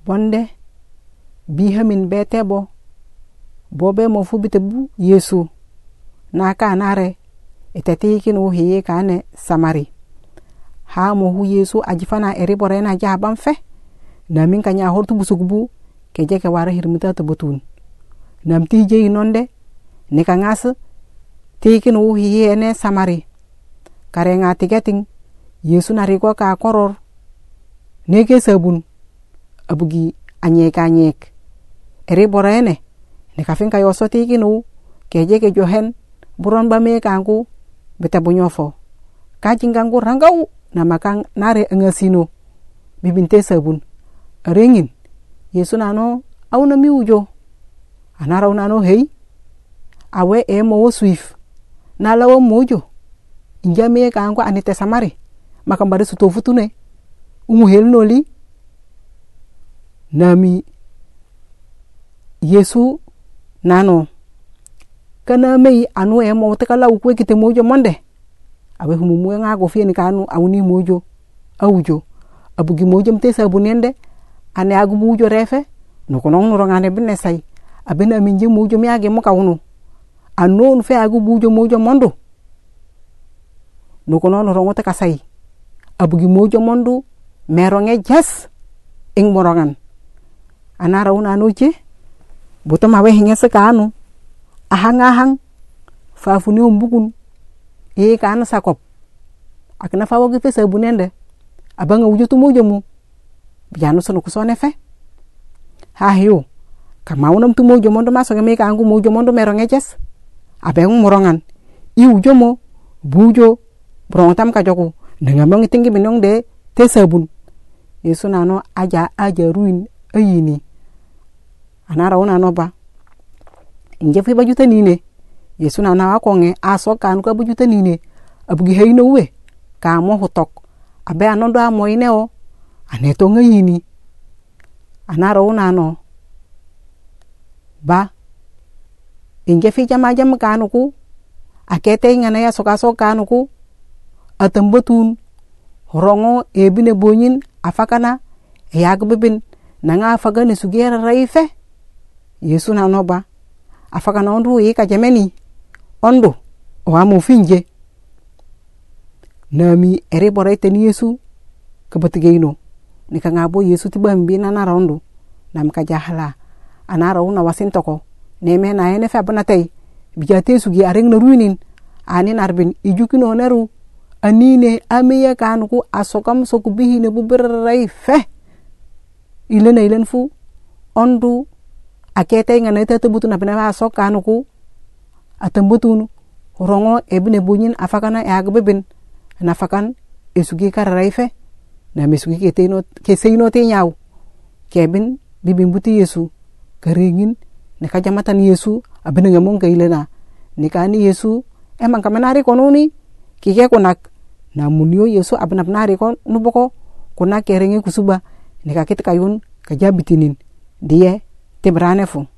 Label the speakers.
Speaker 1: bonde bihamin betebo bobe mo fu bitebu Yesu na ka nare itatikin o hiye kane Samari ha mo hu Yesu ajifana eri borena jaban fe na min kanya hortu busugbu keje ke wara hirmuta to botun nam ti je inonde ne kangas tikin o hiye ne Samari karenga tigeting Yesu nariko ka koror neke sabun abugi anyek eri borene ne kafin kayo soti kinu keje ke johen buron ba me kangu beta bunyofo kajingangu rangau na makang nare ngasino bibinte sabun rengin Yesu nano au na miujo anara unano hei awe mo swift na lawo mojo injame kangu anite Samari makambare sutofutune hel noli nami Yesu nano kana mei anu mo tekala ukwe kite mojo monde awe humumu nga go fieni kanu awuni mojo awujo abugi mojo mte sabunende ane agu mojo refe no kono no ngane binne sai abena minje mojo mi age mo kawunu anon fe agu mojo mondo no kono no rongote kasai abugi mojo mondo meronge jas ing morongan anara una noche boto mawe hinga sekanu ahang fafuni umbukun kana sakop akna fawo ge fesa bunende abanga wujutu mojo mu biano sono kusone fe ha hiyo kama unam tu mojo mondo maso me kangu mojo mondo meronge jas abeng morongan I ujomo bujo brontam ka joku ngamang tingi minong de te sabun Yesu nano aja ruin ayini anara una no ba inje fi bajuta nine Yesu nana akonge aso kan ko bajuta nine abugi heino we ka mo hotok abe anondo amoine o aneto ngayini anara una no ba inje fi jama kanuku akete ngana ya soka kanuku atambotun horongo ebine bonyin afakana yagbebin nanga afagane sugera raife Yesu nanoba afakana ondu yika jameni ondo oamu finje nami ere boraite ni Yesu kabatigeino nika ngabo Yesu tibambi na narondo nam kajahala anara una wasintoko neme na ene fa banatay bijate sugi areng na ruinin ani narbin ijukino neru anine amiya kanuku asokam sokubihi ne buberai fe ilen fu ondu akete ngana tete butu na bena sokanuku atambutun rongo ebne bunyin afakana yagbeben na fakan esugi kararai fe na mesugi keteno keseino te nyaw kebin bibimbuti Yesu karingin ne kajamatan Yesu abene ngamong kailena nikani Yesu emang kamenari kononi kike konak namunio Yesu abnabnari kon nuboko konak kerenge kusuba nikakit kayun kajabitinin dia tebrane fu